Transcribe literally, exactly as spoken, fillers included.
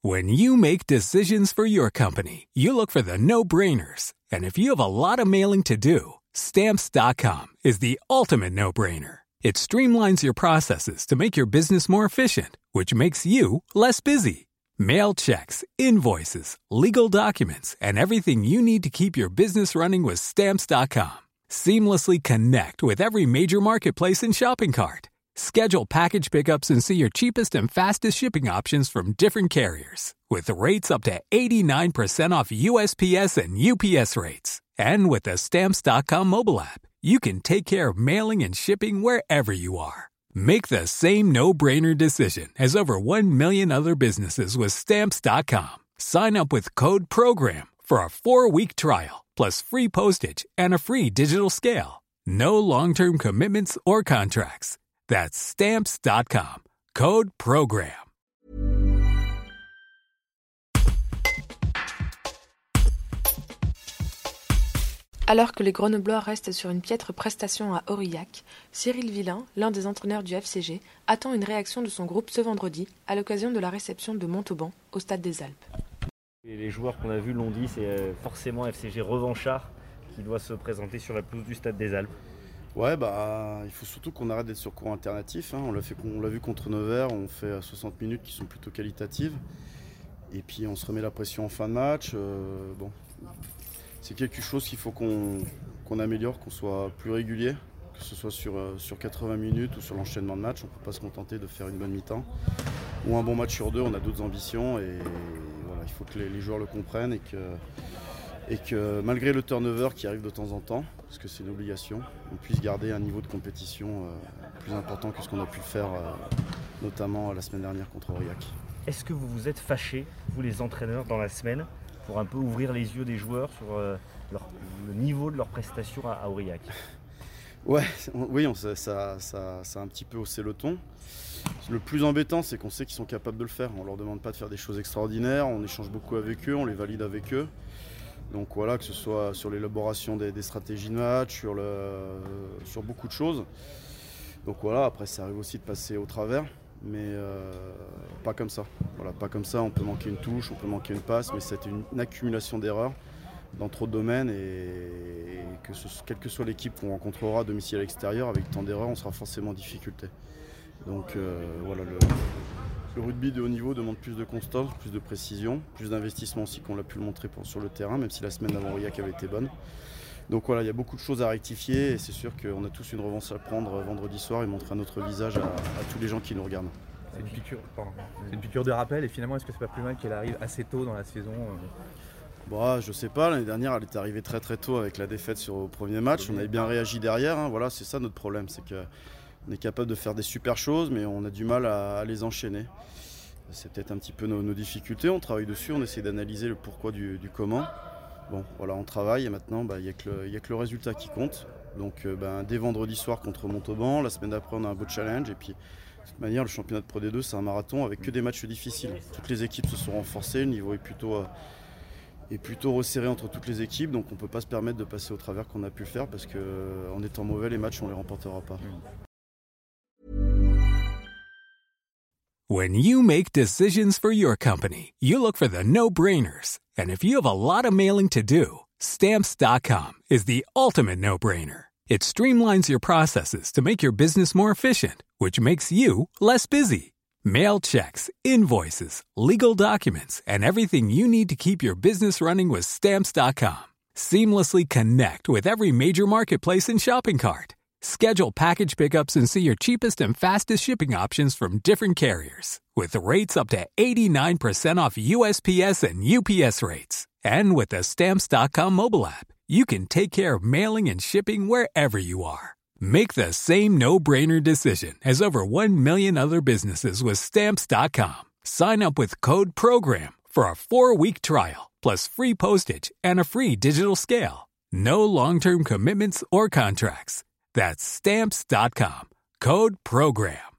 When you make decisions for your company, you look for the no-brainers. And if you have a lot of mailing to do, Stamps dot com is the ultimate no-brainer. It streamlines your processes to make your business more efficient, which makes you less busy. Mail checks, invoices, legal documents, and everything you need to keep your business running with Stamps dot com. Seamlessly connect with every major marketplace and shopping cart. Schedule package pickups and see your cheapest and fastest shipping options from different carriers. With rates up to eighty-nine percent off U S P S and U P S rates. And with the Stamps dot com mobile app, you can take care of mailing and shipping wherever you are. Make the same no-brainer decision as over one million other businesses with Stamps dot com. Sign up with code PROGRAM for a four-week trial, plus free postage and a free digital scale. No long-term commitments or contracts. That's Stamps dot com. Code PROGRAM. Alors que les Grenoblois restent sur une piètre prestation à Aurillac, Cyril Villain, l'un des entraîneurs du F C G, attend une réaction de son groupe ce vendredi à l'occasion de la réception de Montauban au Stade des Alpes. Et les joueurs qu'on a vus l'ont dit, c'est forcément F C G revanchard qui doit se présenter sur la pelouse du Stade des Alpes. Ouais, bah, il faut surtout qu'on arrête d'être sur cours alternatif. Hein. On l'a fait, on l'a vu contre Nevers, on fait soixante minutes qui sont plutôt qualitatives. Et puis on se remet la pression en fin de match. Euh, bon, c'est quelque chose qu'il faut qu'on, qu'on améliore, qu'on soit plus régulier, que ce soit sur, sur quatre-vingts minutes ou sur l'enchaînement de matchs. On ne peut pas se contenter de faire une bonne mi-temps. Ou un bon match sur deux, on a d'autres ambitions. Et voilà, il faut que les, les joueurs le comprennent et que... et que malgré le turnover qui arrive de temps en temps, parce que c'est une obligation, on puisse garder un niveau de compétition euh, plus important que ce qu'on a pu faire, euh, notamment la semaine dernière contre Aurillac. Est-ce que vous vous êtes fâchés, vous les entraîneurs, dans la semaine, pour un peu ouvrir les yeux des joueurs sur euh, leur, le niveau de leur prestation à, à Aurillac? Ouais, on, oui, on, ça, ça, ça, ça a un petit peu haussé le ton. Le plus embêtant, c'est qu'on sait qu'ils sont capables de le faire. On ne leur demande pas de faire des choses extraordinaires, on échange beaucoup avec eux, on les valide avec eux. Donc voilà, que ce soit sur l'élaboration des, des stratégies de match, sur, le, sur beaucoup de choses. Donc voilà, après ça arrive aussi de passer au travers, mais euh, pas comme ça. Voilà, pas comme ça, on peut manquer une touche, on peut manquer une passe, mais c'est une, une accumulation d'erreurs dans trop de domaines et, et que ce, quelle que soit l'équipe qu'on rencontrera à domicile à l'extérieur, avec tant d'erreurs, on sera forcément en difficulté. Donc euh, voilà, le, le rugby de haut niveau demande plus de constance, plus de précision, plus d'investissement aussi qu'on l'a pu le montrer pour, sur le terrain, même si la semaine d'avant Aurillac avait été bonne. Donc voilà, il y a beaucoup de choses à rectifier et c'est sûr qu'on a tous une revanche à prendre vendredi soir et montrer un autre visage à, à tous les gens qui nous regardent. C'est une piqûre, pardon. C'est une piqûre de rappel et finalement est-ce que c'est pas plus mal qu'elle arrive assez tôt dans la saison euh... Bon, je sais pas, l'année dernière elle était arrivée très très tôt avec la défaite sur le premier match, on avait bien réagi derrière, hein. Voilà, c'est ça notre problème, c'est que on est capable de faire des super choses, mais on a du mal à, à les enchaîner. C'est peut-être un petit peu nos, nos difficultés, on travaille dessus, on essaie d'analyser le pourquoi du, du comment. Bon, voilà, on travaille et maintenant, il bah, n'y a, a que le résultat qui compte. Donc, euh, bah, dès vendredi soir contre Montauban, la semaine d'après, on a un beau challenge. Et puis, de toute manière, le championnat de Pro D deux, c'est un marathon avec que des matchs difficiles. Toutes les équipes se sont renforcées, le niveau est plutôt, euh, est plutôt resserré entre toutes les équipes. Donc, on ne peut pas se permettre de passer au travers qu'on a pu le faire parce qu'en euh, étant mauvais, les matchs, on ne les remportera pas. When you make decisions for your company, you look for the no-brainers. And if you have a lot of mailing to do, Stamps dot com is the ultimate no-brainer. It streamlines your processes to make your business more efficient, which makes you less busy. Mail checks, invoices, legal documents, and everything you need to keep your business running with Stamps dot com. Seamlessly connect with every major marketplace and shopping cart. Schedule package pickups and see your cheapest and fastest shipping options from different carriers. With rates up to eighty-nine percent off U S P S and U P S rates. And with the Stamps dot com mobile app, you can take care of mailing and shipping wherever you are. Make the same no-brainer decision as over one million other businesses with Stamps dot com. Sign up with code PROGRAM for a four-week trial, plus free postage and a free digital scale. No long-term commitments or contracts. That's Stamps dot com. Code PROGRAM.